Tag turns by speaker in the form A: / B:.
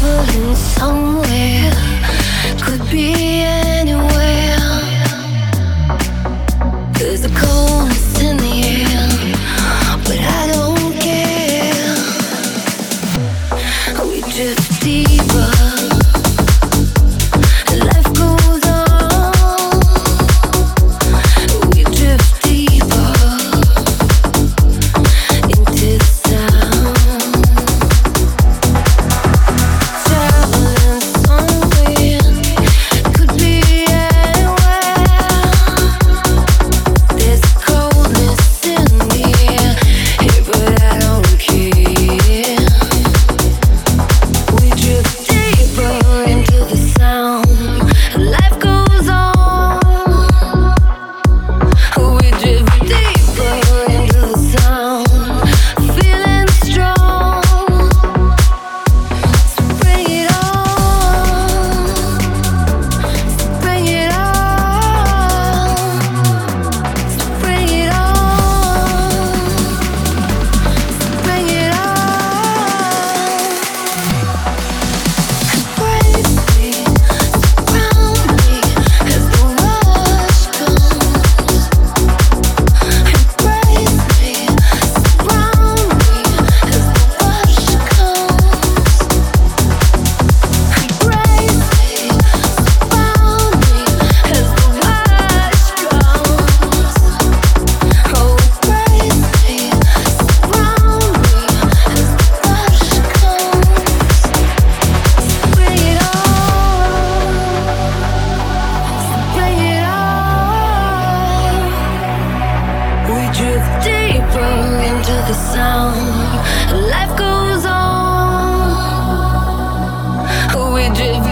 A: traveling somewhere, could be anywhere. There's a coldness in the air, but I don't care. We drift deeper. Life goes on. We drift deeper into the sound. Traveling somewhere, could be anywhere. There's coldness in the air, hey, but I don't care. We drift deeper into the sound. Life goes on. We drift deeper into the sound. Feeling strong. So bring it on. So bring it on. So bring it on. So bring it on. Embrace me, surround me as the rush comes. Embrace me, surround me as the rush comes. Embrace me, surround me as the rush comes. Oh, embrace me, surround me as the rush comes. Bring it on, bring it on. We drift deeper into the sound. Life goes on. We drift